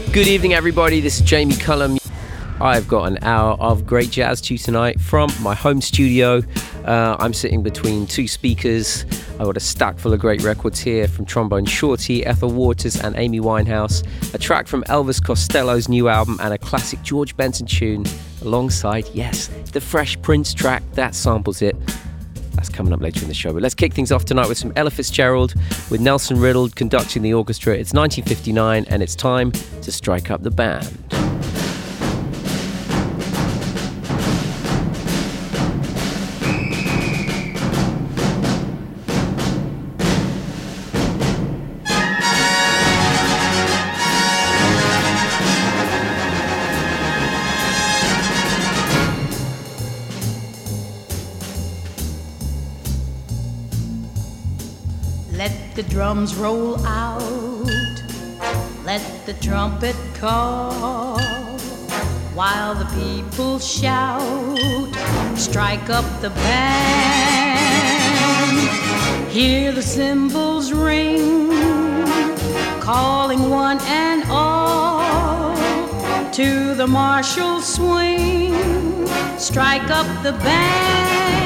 Good evening, everybody. This is Jamie Cullum. I've got an hour of great jazz to you tonight from my home studio. I'm sitting between two speakers. I've got a stack full of great records here from Trombone Shorty, Ethel Waters and Amy Winehouse, a track from Elvis Costello's new album, and a classic George Benson tune alongside, yes, the Fresh Prince track that samples it. That's coming up later in the show. But let's kick things off tonight with some Ella Fitzgerald with Nelson Riddle conducting the orchestra. It's 1959 and it's time to strike up the band. The drums roll out, let the trumpet call, while the people shout, strike up the band. Hear the cymbals ring, calling one and all, to the martial swing, strike up the band.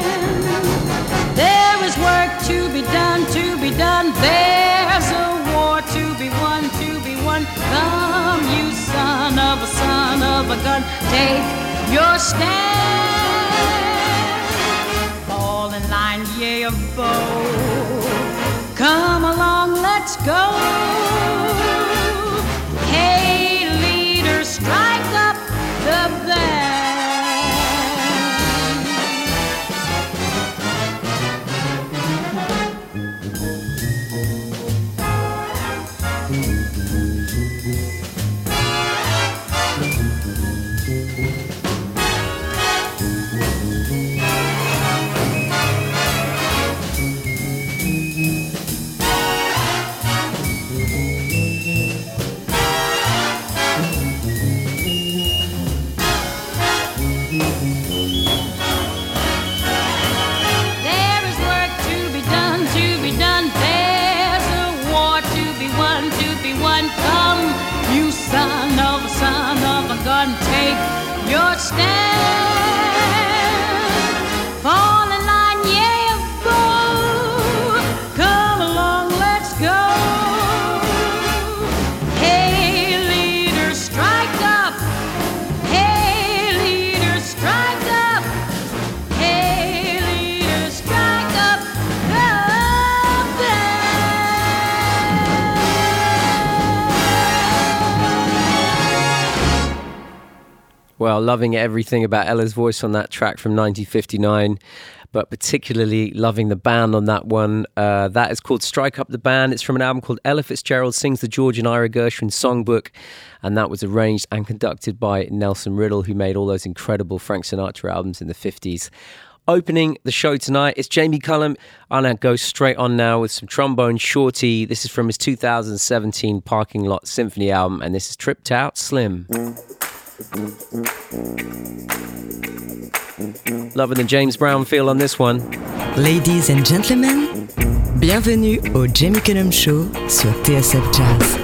There is work to be done, to be done. There's a war to be won, to be won. Come, you son of a gun, take your stand. Fall in line, yea, a bow. Come along, let's go. Hey, leader, strike up the band. Son of a gun, take your stand. Fall in line, yeah, go. Come along, let's go. Hey, leader, strike up. Hey, leader, strike up. Hey, leader, strike up the band. Well, loving everything about Ella's voice on that track from 1959, but particularly loving the band on that one. That is called Strike Up the Band. It's from an album called Ella Fitzgerald Sings the George and Ira Gershwin Songbook, and that was arranged and conducted by Nelson Riddle, who made all those incredible Frank Sinatra albums in the 50s. Opening the show tonight, it's Jamie Cullum. I'm going to go straight on now with some Trombone Shorty. This is from his 2017 Parking Lot Symphony album, and this is Tripped Out Slim. Loving the James Brown feel on this one. Ladies and gentlemen, bienvenue au Jamie Cullum Show sur TSF Jazz.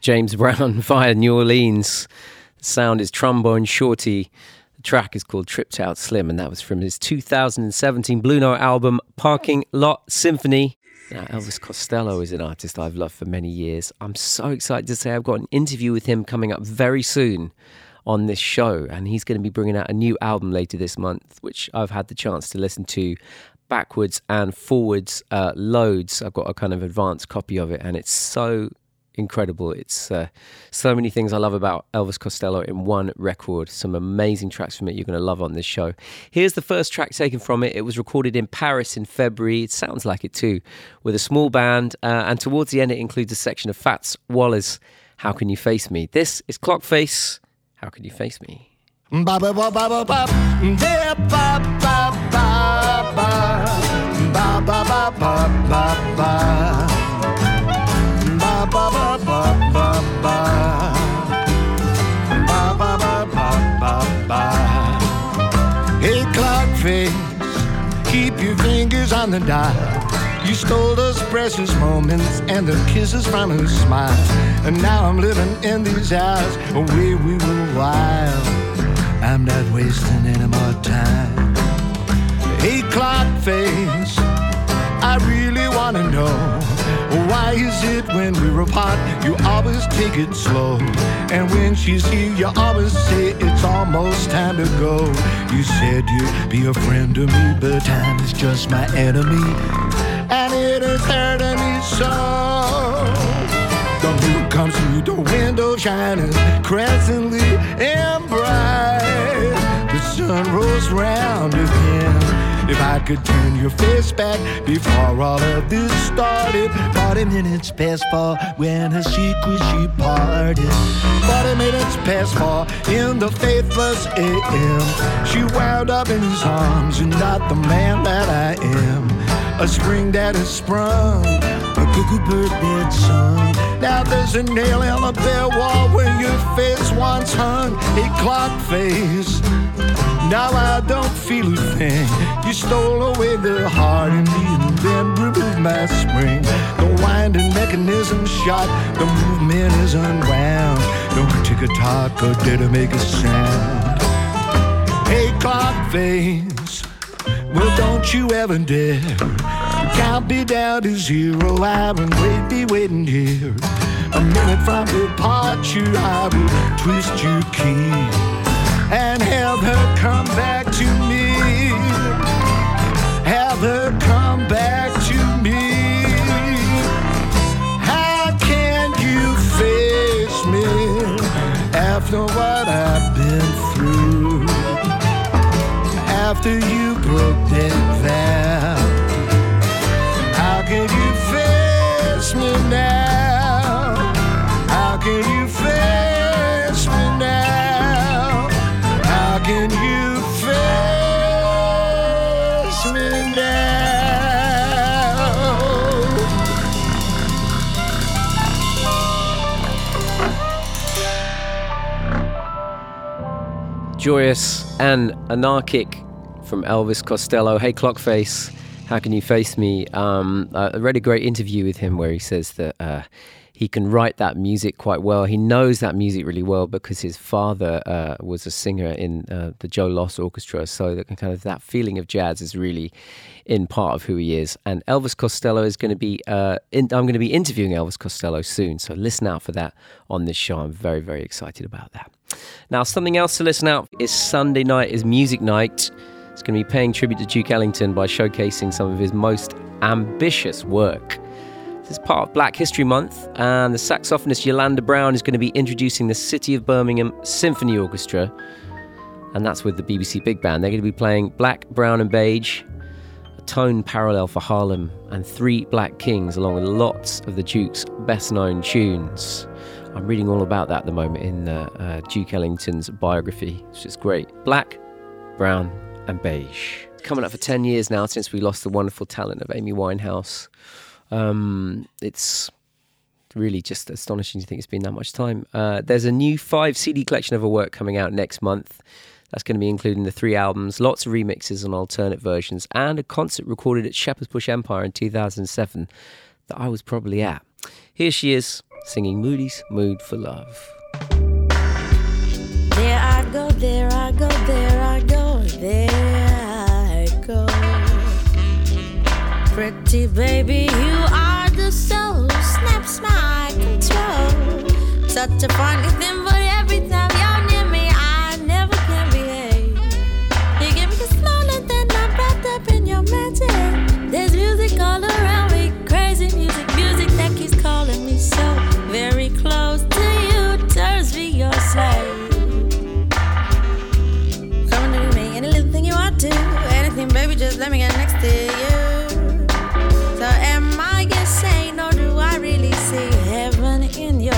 James Brown via New Orleans. The sound is Trombone Shorty. The track is called Tripped Out Slim, and that was from his 2017 Blue Note album, Parking Lot Symphony. Now, Elvis Costello is an artist I've loved for many years. I'm so excited to say I've got an interview with him coming up very soon on this show, and he's going to be bringing out a new album later this month, which I've had the chance to listen to backwards and forwards loads. I've got a kind of advanced copy of it, and it's so incredible. It's so many things I love about Elvis Costello in one record. Some amazing tracks from it you're going to love on this show. Here's the first track taken from it. It was recorded in Paris in February. It sounds like it too, with a small band, and towards the end it includes a section of Fats Wallace, How Can You Face Me? This is Clockface, How Can You Face Me? Ba ba ba ba ba ba, ba ba ba ba ba, ba ba ba ba ba ba, ba ba ba ba ba ba, ba ba ba ba ba. Hey, Clockface, keep your fingers on the dial. You stole those precious moments and the kisses from her smile, and now I'm living in these hours where we were wild. I'm not wasting any more time. Hey, Clockface, I really wanna know, why is it when we're apart you always take it slow, and when she's here you always say it's almost time to go. You said you'd be a friend to me, but time is just my enemy, and it is hurting me so. The moon comes through the window shining crescently and bright. The sun rolls round again. If I could turn your face back before all of this started. 40 minutes past 4 when her secret she parted. 40 minutes past 4 in the faithless AM. She wound up in his arms and not the man that I am. A spring that has sprung, a cuckoo bird dead song. Now there's a nail in the bare wall where your face once hung. A Clockface, now I don't feel a thing. You stole away the heart in me and then removed my spring. The winding mechanism shot, the movement is unwound. No tick-a-tock or did it make a sound. Hey, Clockface, well, don't you ever dare count me down to 0. I will be waiting here. A minute from departure, I will twist your key and have her come back to me. Have her come back to me. How can you face me after what I've been through? After you broke that vow, how can you face me now? How can you face me now? How can you face me now? Joyous and anarchic from Elvis Costello. Hey, Clockface, How Can You Face Me? I read a great interview with him where he says that he can write that music quite well. He knows that music really well because his father was a singer in the Joe Loss Orchestra, so that kind of that feeling of jazz is really in part of who he is. And Elvis Costello is going to be, I'm going to be interviewing Elvis Costello soon, so listen out for that on this show. I'm very, very excited about that. Now, something else to listen out is Sunday night is Music Night. It's going to be paying tribute to Duke Ellington by showcasing some of his most ambitious work. This is part of Black History Month, and the saxophonist Yolanda Brown is going to be introducing the City of Birmingham Symphony Orchestra, and that's with the BBC Big Band. They're going to be playing Black, Brown and Beige, a tone parallel for Harlem, and Three Black Kings, along with lots of the Duke's best-known tunes. I'm reading all about that at the moment in Duke Ellington's biography, which is great. Black, Brown and Beige. Coming up for 10 years now since we lost the wonderful talent of Amy Winehouse. It's really just astonishing to think it's been that much time. There's a new 5 CD collection of her work coming out next month. That's going to be including the 3 albums, lots of remixes and alternate versions, and a concert recorded at Shepherd's Bush Empire in 2007 that I was probably at. Here she is, singing Moody's Mood for Love. There I go, there I go, there I go, there I go. Pretty baby, you are the soul, snaps my control. Such a funny thing, but every time you're near me, I never can behave. You give me the smaller than I'm wrapped up in your magic. There's music all around me, crazy music, music that keeps calling me so very close to you, turns me your slave. Coming to me, any little thing you want to, anything, baby, just let me get next to you. So am I insane, or do I really see heaven in your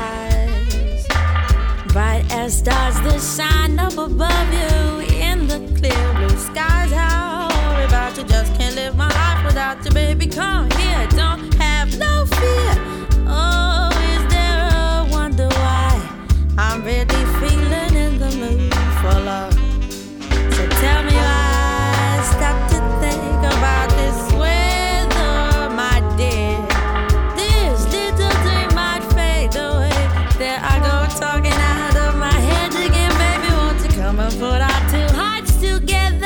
eyes? Bright as stars that shine up above you in the clear blue skies. How about you just can't live my life without you, baby? Come here, don't have no fear. Oh, is there a wonder why I'm really feeling in the mood for love? So tell me why I stop to think about this weather, my dear. This little dream might fade away. There I go talking out of my head again, baby. Won't you come and put our two hearts together?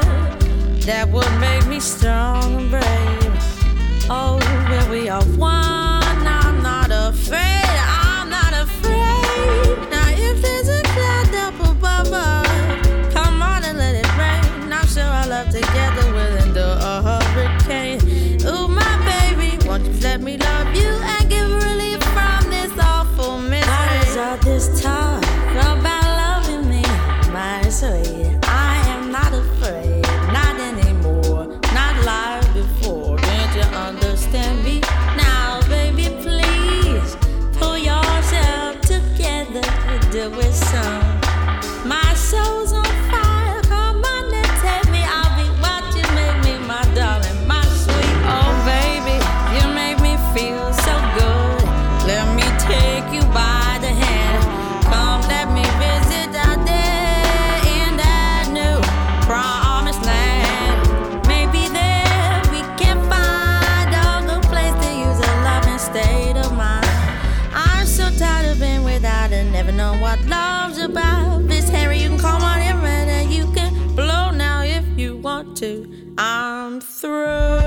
That would make me strong and brave. Oh, where we are one, I'm not afraid, I'm not afraid. Now if there's a cloud up above us, come on and let it rain. I'm sure our love together will endure a hurricane. Ooh, my baby, won't you let me love you and give relief from this awful misery? Why is all this talk about loving me, my sweet? I am not afraid, not anymore, not like before. Can't you understand me now, baby? Please pull yourself together, do it some. My soul's on fire, come on and take me. I'll be what you make me, my darling, my sweet. Oh baby, you make me feel so good. Let me take you by the hand. Come, let me visit out there in that new promised land. Maybe there we can find a good place to use a loving state of mind. I'm so tired of being without and never know what love's about. Miss Harry, you can call on him and you can blow now if you want to. I'm through.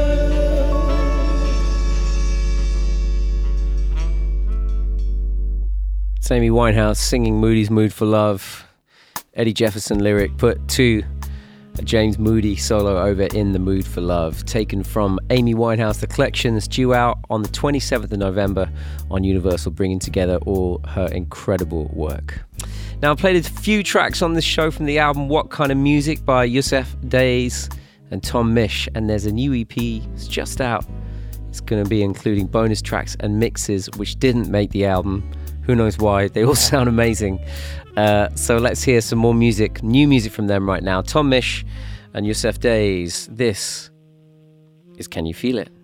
It's Amy Winehouse singing Moody's Mood for Love. Eddie Jefferson lyric put to a James Moody solo over in The Mood for Love, taken from Amy Winehouse. The collection is due out on the 27th of November on Universal, bringing together all her incredible work. Now, I played a few tracks on this show from the album What Kind of Music by Yusef Days and Tom Misch, and there's a new EP. It's just out. It's going to be including bonus tracks and mixes which didn't make the album. Who knows why? They all sound amazing. So let's hear some more music, new music from them right now. Tom Misch and Yusef Days. This is Can You Feel It?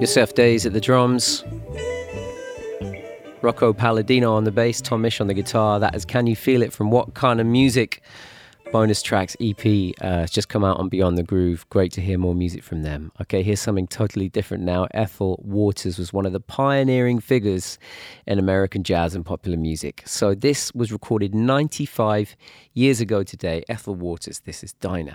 Yosef Days at the drums, Rocco Palladino on the bass, Tom Misch on the guitar. That is Can You Feel It from What Kind of Music? Bonus Tracks EP. It's just come out on Beyond the Groove. Great to hear more music from them. Okay, here's something totally different now. Ethel Waters was one of the pioneering figures in American jazz and popular music. So this was recorded 95 years ago today. Ethel Waters, this is Dinah.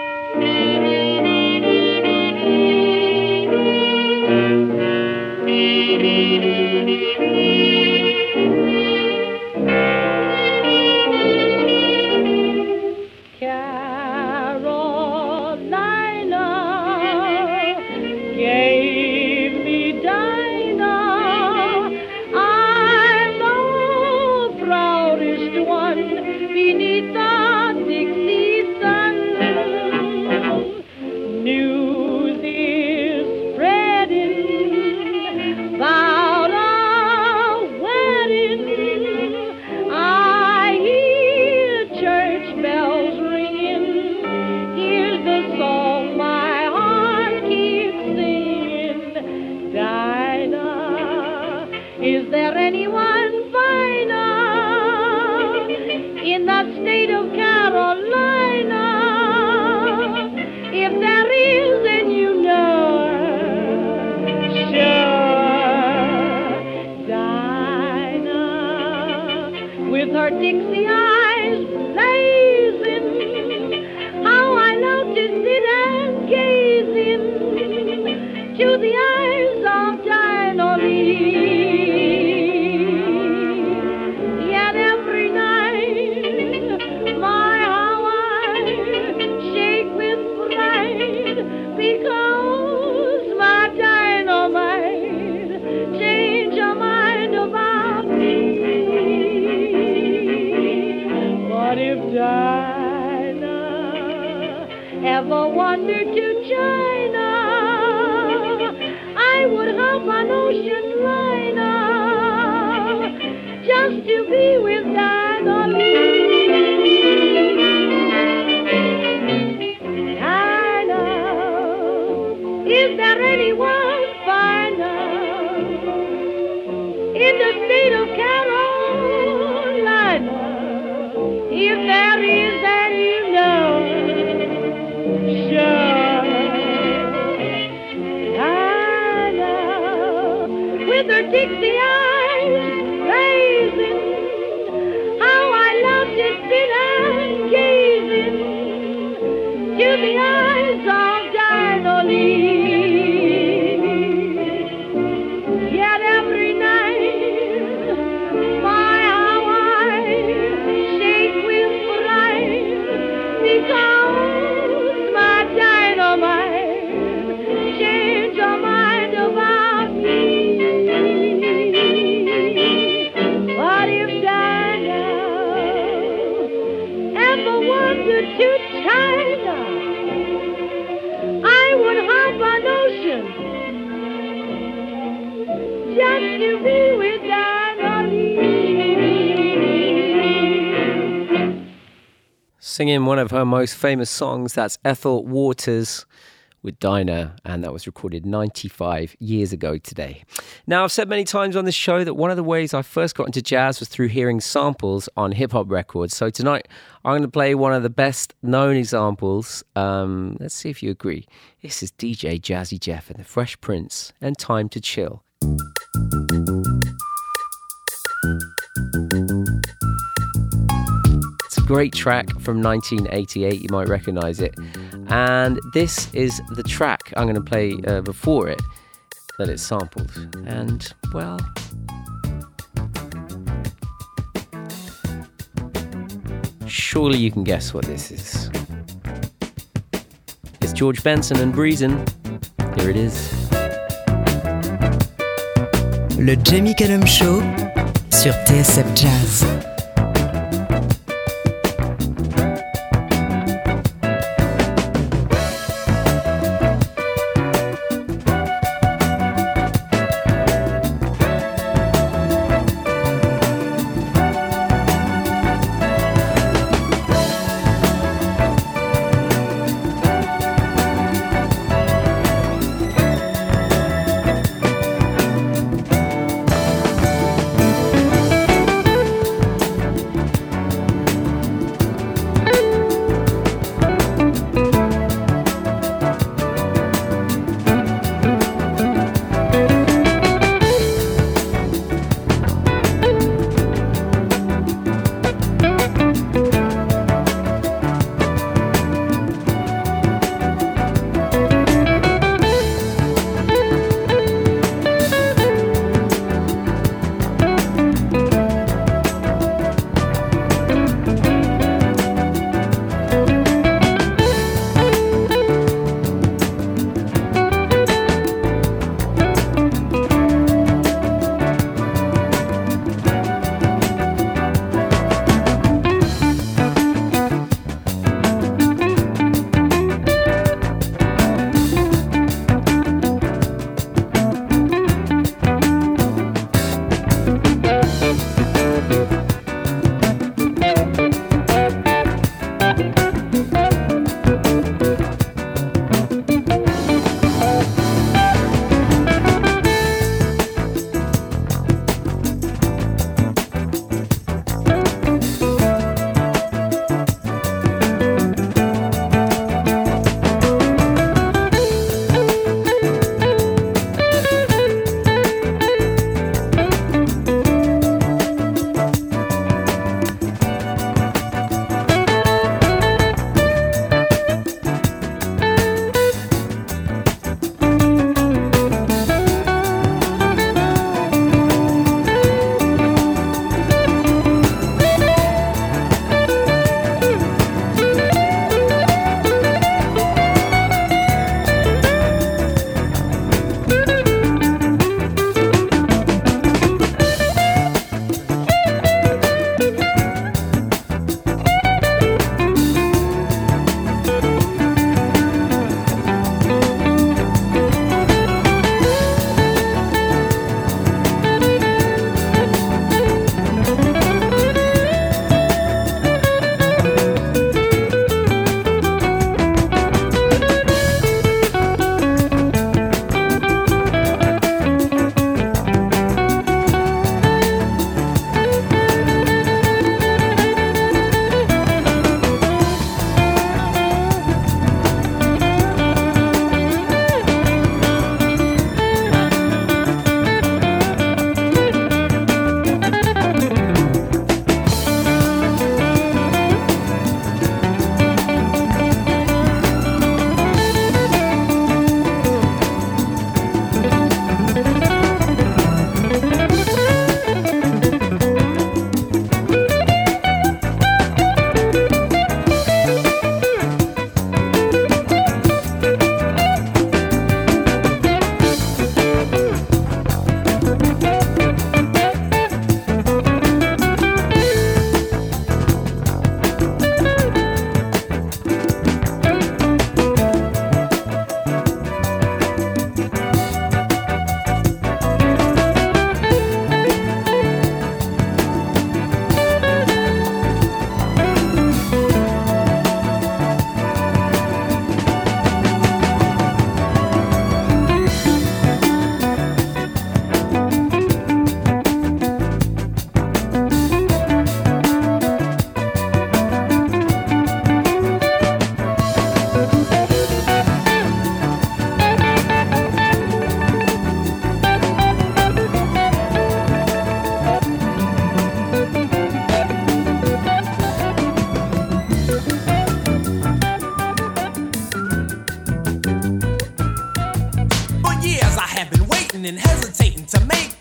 Dixie eyes blazing, how I love to sit and gaze into the eyes of Dinah Lee. Yet every night, my how I shake with pride, because my dynamite change her mind about me. But if Dinah ever wandered to China, I would hop an ocean liner just to be with Dinah Lee. Dinah, is there anyone finer in the state of Carolina? If there is, then you know, sure. Dinah, with her Dixie eyes blazing, how I love to sit and gaze into the eyes of Dinah Lee. Yet every night, my how I shake with pride, because my dynamite changed her mind about me. But if Dinah ever wandered to China, I would hop an ocean just to be with Dinah Lee. Singing one of her most famous songs, that's Ethel Waters with Dinah, and that was recorded 95 years ago today. Now, I've said many times on this show that one of the ways I first got into jazz was through hearing samples on hip-hop records. So tonight, I'm going to play one of the best-known examples. Let's see if you agree. This is DJ Jazzy Jeff and the Fresh Prince, and Time to Chill. It's a great track from 1988, you might recognize it. And this is the track I'm going to play before it that it's sampled. And, well, surely you can guess what this is. It's George Benson and Breezin'. Here it is. Le Jamie Cullum Show sur TSF Jazz.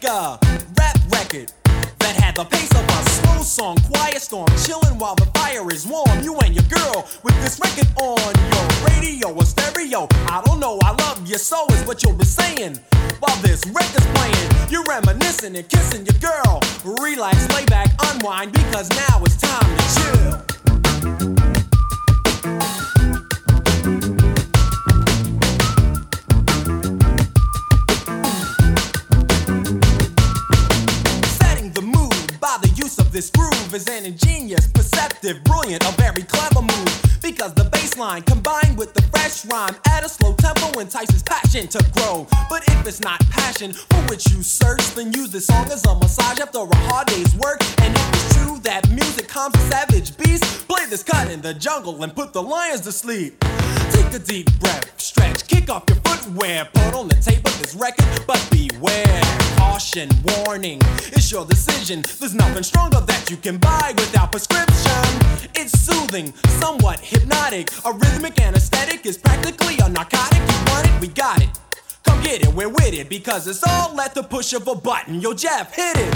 a rap record that had the pace of a slow song, quiet storm, chilling while the fire is warm. You and your girl with this record on your radio or stereo. I don't know, I love you so is what you'll be saying while this record's playing. You're reminiscing and kissing your girl. Relax, lay back, unwind, because now it's time to chill. This groove is an ingenious, perceptive, brilliant, a very clever move. Because the bass line combined with the fresh rhyme at a slow tempo entices passion to grow. But if it's not passion for which you search, then use this song as a massage after a hard day's work. And if it's true that music calms a savage beast, play this cut in the jungle and put the lions to sleep. Take a deep breath, stretch, kick off your footwear, put on the tape of this record, but beware. Caution, warning, it's your decision. There's nothing stronger that you can buy without prescription. It's soothing, somewhat hypnotic. A rhythmic anesthetic is practically a narcotic. You want it, we got it. Come get it, we're with it, because it's all at the push of a button. Yo, Jeff, hit it.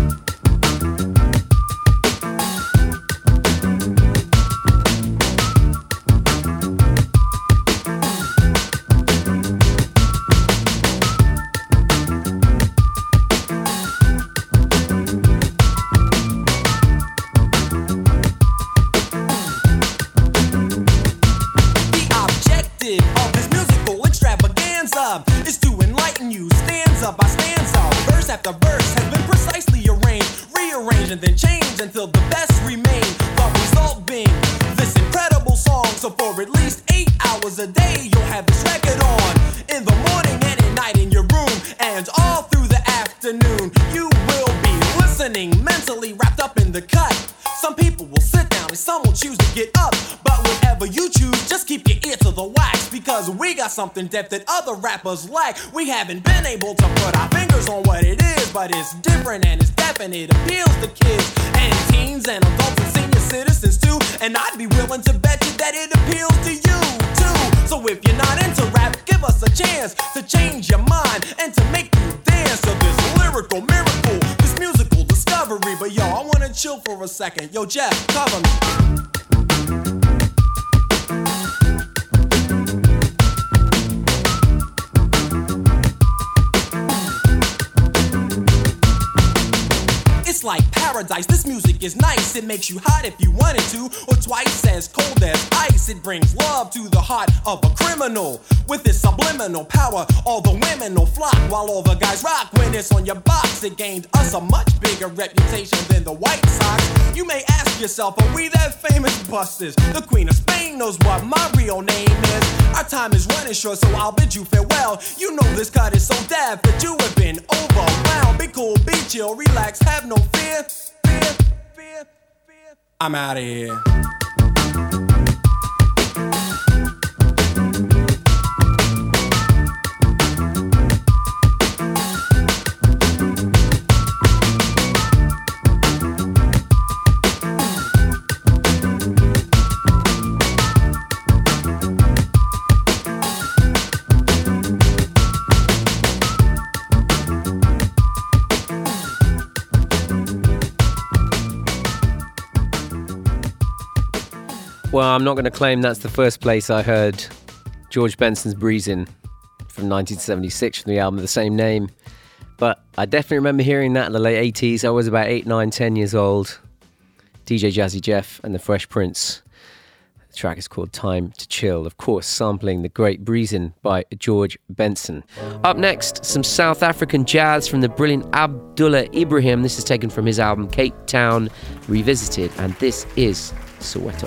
Is to enlighten you, stanza by stanza, verse after verse has been precisely arranged, rearranged and then changed until the best remain. The result being this incredible song. So for at least 8 hours a day you'll have this record on. In the morning and at night in your room, and all through the afternoon you will be listening, mentally wrapped up in the cut. Some people will sit down and some will choose to get up. But whatever you choose, just keep your ear to the wax, because we got something depth that other rappers lack. We haven't been able to put our fingers on what it is, but it's different and it's definite. It appeals to kids and teens and adults and senior citizens too. And I'd be willing to bet you that it appeals to you too. So if you're not into rap, give us a chance to change your mind and to make you dance to this lyrical miracle, this musical discovery. But yo, I wanna chill for a second. Yo, Jeff, cover me. It's like paradise, this music is nice. It makes you hot if you wanted to, or twice as cold as ice. It brings love to the heart of a criminal. With its subliminal power, all the women will flock, while all the guys rock. When it's on your box, it gained us a much bigger reputation than the White Sox. You may ask yourself, are we that famous busters? The Queen of Spain knows what my real name is. Our time is running short, so I'll bid you farewell. You know this cut is so daft that you have been overwhelmed. Be cool, be chill, relax, have no fear. I'm out of here. Well, I'm not going to claim that's the first place I heard George Benson's Breezin' from 1976 from the album of the same name. But I definitely remember hearing that in the late 80s. I was about 8, 9, 10 years old. DJ Jazzy Jeff and the Fresh Prince. The track is called Time to Chill, of course, sampling the great Breezin' by George Benson. Up next, some South African jazz from the brilliant Abdullah Ibrahim. This is taken from his album Cape Town Revisited, and this is Soweto.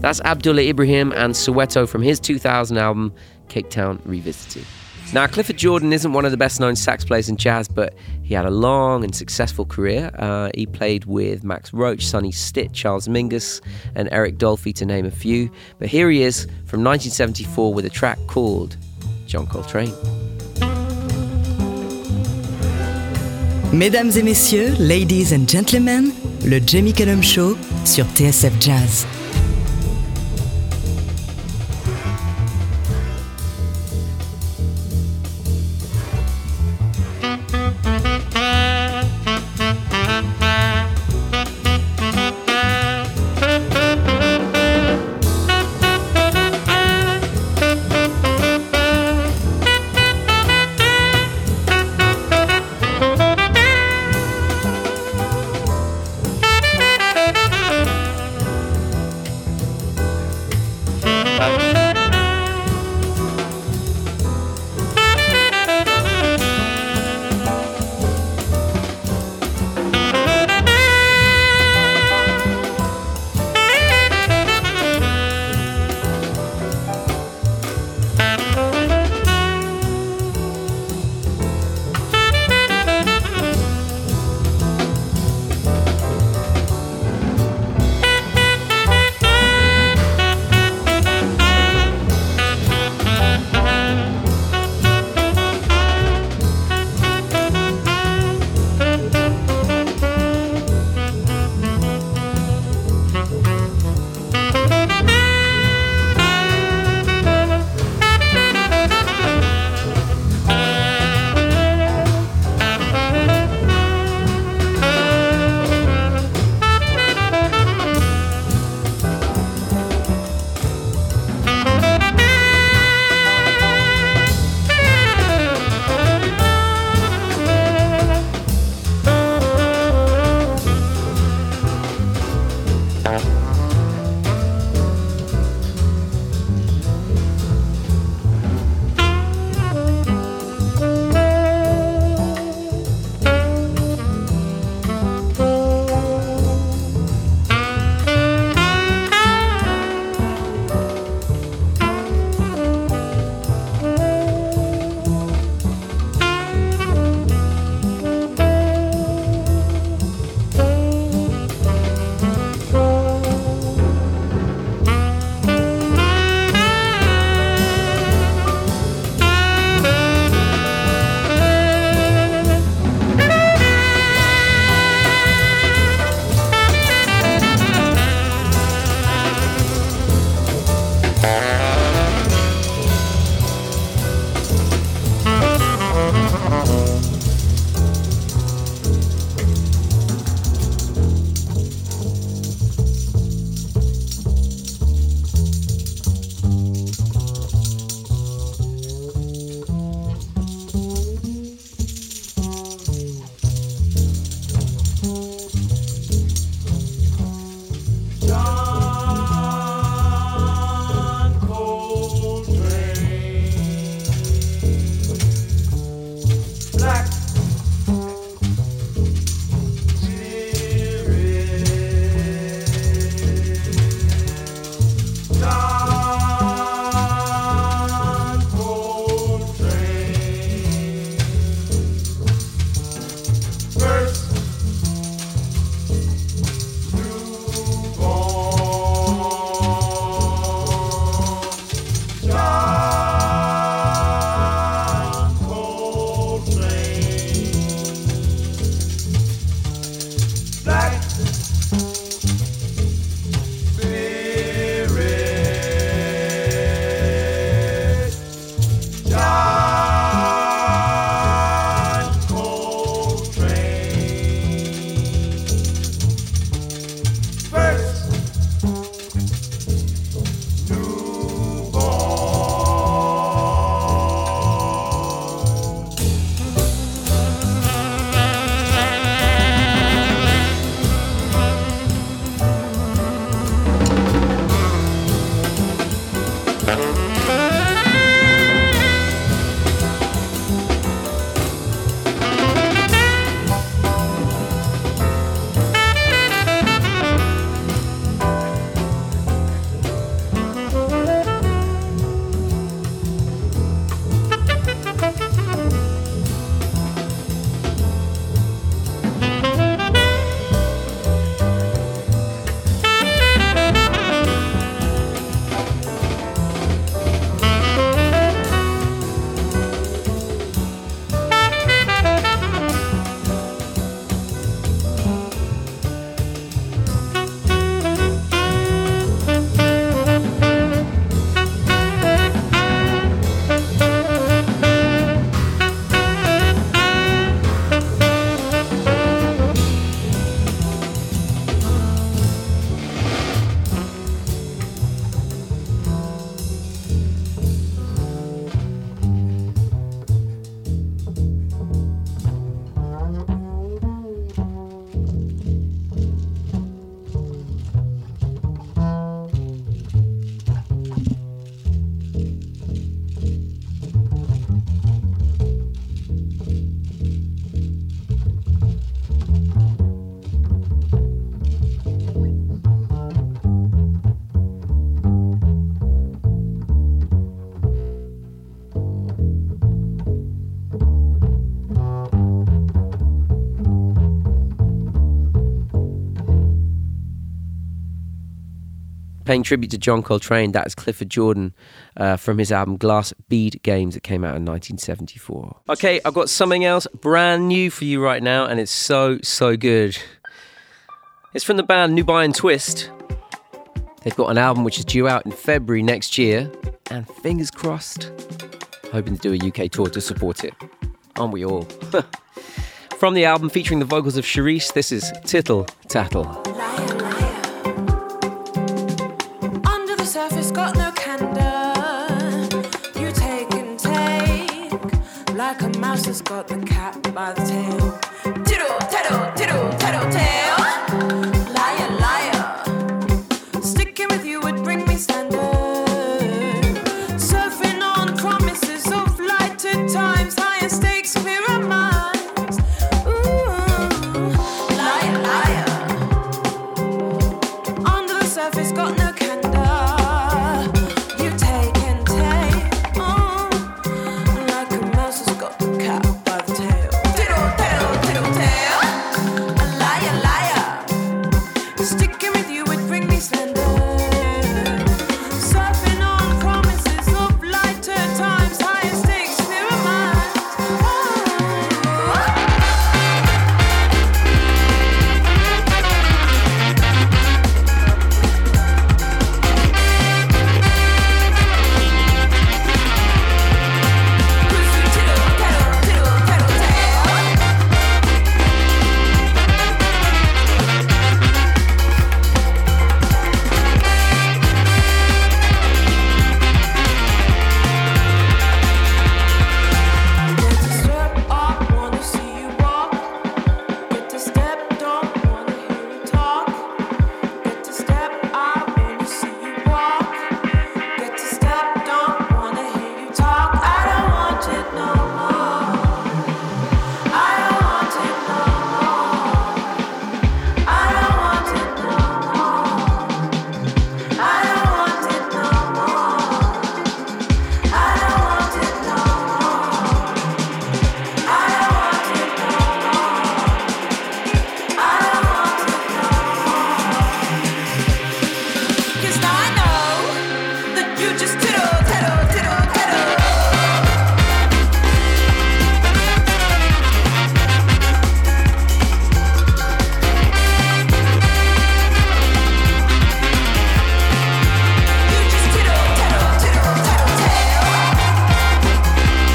That's Abdullah Ibrahim and Soweto from his 2000 album, Cape Town Revisited. Now, Clifford Jordan isn't one of the best-known sax players in jazz, but he had a long and successful career. He played with Max Roach, Sonny Stitt, Charles Mingus, and Eric Dolphy, to name a few. But here he is from 1974 with a track called John Coltrane. Mesdames et messieurs, ladies and gentlemen, le Jamie Cullum Show sur TSF Jazz. Paying tribute to John Coltrane, that is Clifford Jordan from his album Glass Bead Games that came out in 1974. Okay, I've got something else brand new for you right now, and it's so good. It's from the band Nubian Twist. They've got an album which is due out in February next year, and fingers crossed, hoping to do a UK tour to support it. Aren't we all? From the album featuring the vocals of Charisse, this is Tittle Tattle. Liar, liar. Under the surface, got no candor. You take and take, like a mouse has got the cat by the tail. Tittle, tattle, tittle, tattle, tail. Liar, liar. Sticking with you would bring me standard. Surfing on promises of lighter times, higher stakes, clearer minds. Ooh, liar, liar. Under the surface, got no candor. You take and take, like a mouse has got the cat by the tail. Tittle, tattle, tittle, tail. Liar, liar. Sticking with you would bring me slender. Surfing on promises of lighter times, higher stakes, clearer minds. Tittle, tattle, tittle, tattle, tail. Get to step up, wanna see you walk. Get to step, don't wanna hear you talk. Get to step up, wanna see you walk. Get to step, don't wanna hear you talk. I don't want it no more. I don't want it no more. I don't want it no more. I don't want it no more. I don't want it no more. I don't want it no more. I don't want it no more. 'Cause now I know that you just tittle, tattle, tittle, tattle. You just tittle, tattle, tittle, tattle, tail.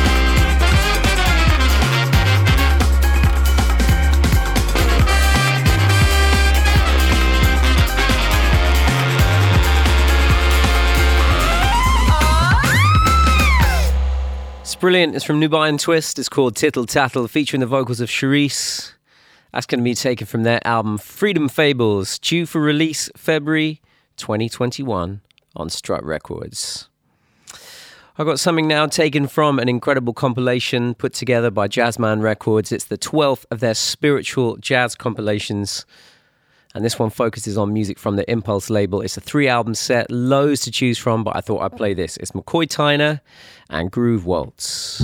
It's brilliant. It's from Nubian Twist. It's called Tittle Tattle, featuring the vocals of Charisse. That's going to be taken from their album Freedom Fables, due for release February 2021 on Strut Records. I've got something now taken from an incredible compilation put together by Jazzman Records. It's the 12th of their spiritual jazz compilations. And this one focuses on music from the Impulse label. It's a 3-album set, loads to choose from, but I thought I'd play this. It's McCoy Tyner and Groove Waltz.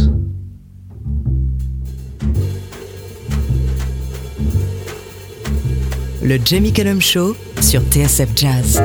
Le Jamie Cullum Show sur TSF Jazz.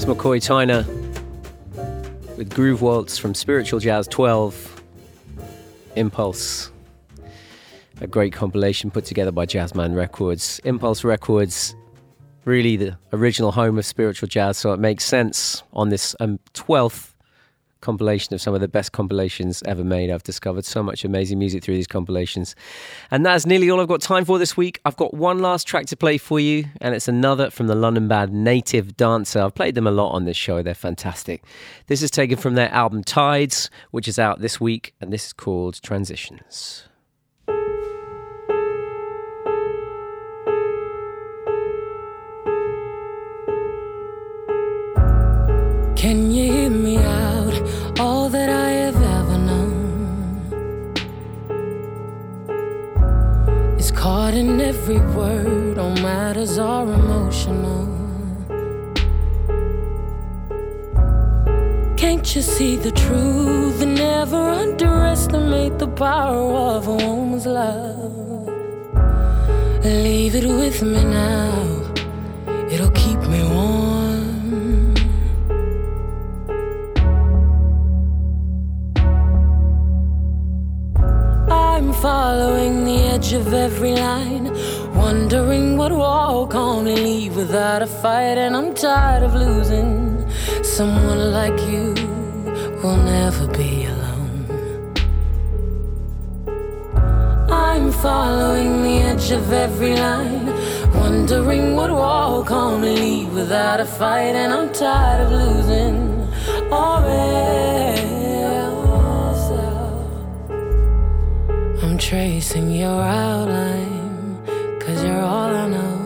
McCoy Tyner with Groove Waltz from Spiritual Jazz 12, Impulse. A great compilation put together by Jazzman Records. Impulse Records, really the original home of spiritual jazz, so it makes sense on this 12th compilation of some of the best compilations ever made. I've discovered so much amazing music through these compilations. And that's nearly all I've got time for this week. I've got one last track to play for you, and it's another from the London band Native Dancer. I've played them a lot on this show. They're fantastic. This is taken from their album Tides, which is out this week, and this is called Transitions. Can you hear me out? All that I have ever known is caught in every word. All matters are emotional. Can't you see the truth and never underestimate the power of a woman's love? Leave it with me now, it'll keep me warm. I'm following the edge of every line, wondering what walk on and leave without a fight. And I'm tired of losing. Someone like you will never be alone. I'm following the edge of every line, wondering what walk on and leave without a fight. And I'm tired of losing. I'm tracing your outline, 'cause you're all I know.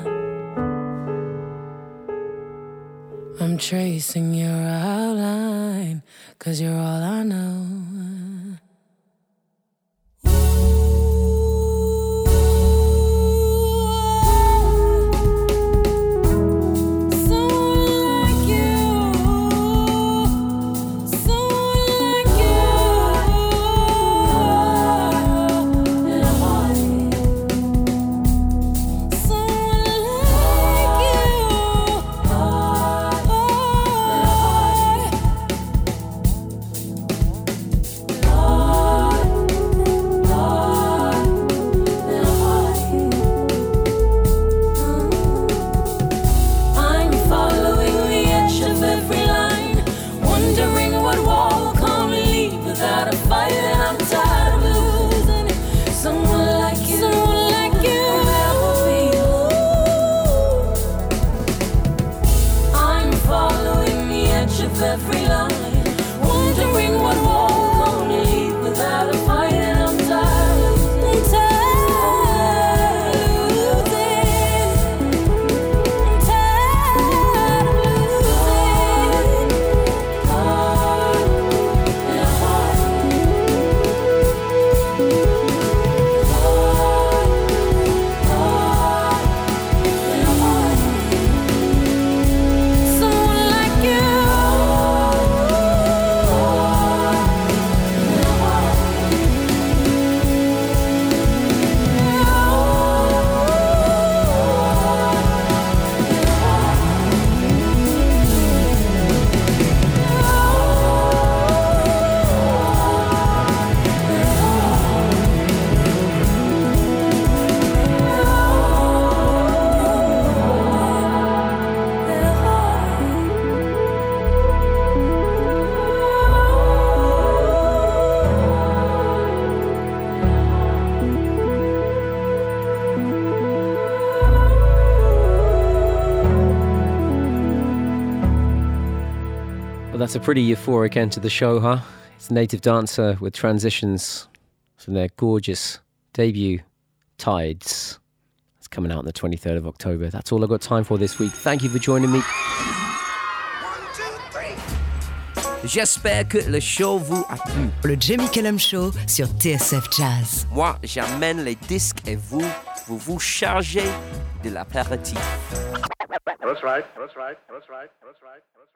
I'm tracing your outline, 'cause you're all I know. That's a pretty euphoric end to the show, huh? It's Native Dancer with Transitions from their gorgeous debut, Tides. It's coming out on the 23rd of October. That's all I've got time for this week. Thank you for joining me. 1, 2, 3. J'espère que le show vous a plu. Le Jamie Cullum Show sur TSF Jazz. Moi, j'amène les disques et vous chargez de l'apéritif. That's right.